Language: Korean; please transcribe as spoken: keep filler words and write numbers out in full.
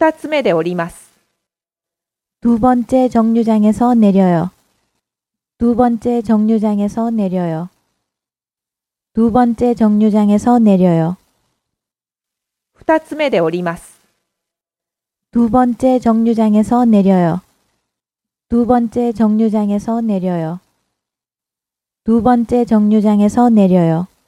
二つ目で降ります。 두 번째 정류장에서 내려요. 두 번째 정류장에서 내려요. 두 번째 정류장에서 내려요. 二つ目で降ります。 두 번째 정류장에서 내려요. 두 번째 정류장에서 내려요. 두 번째 정류장에서 내려요.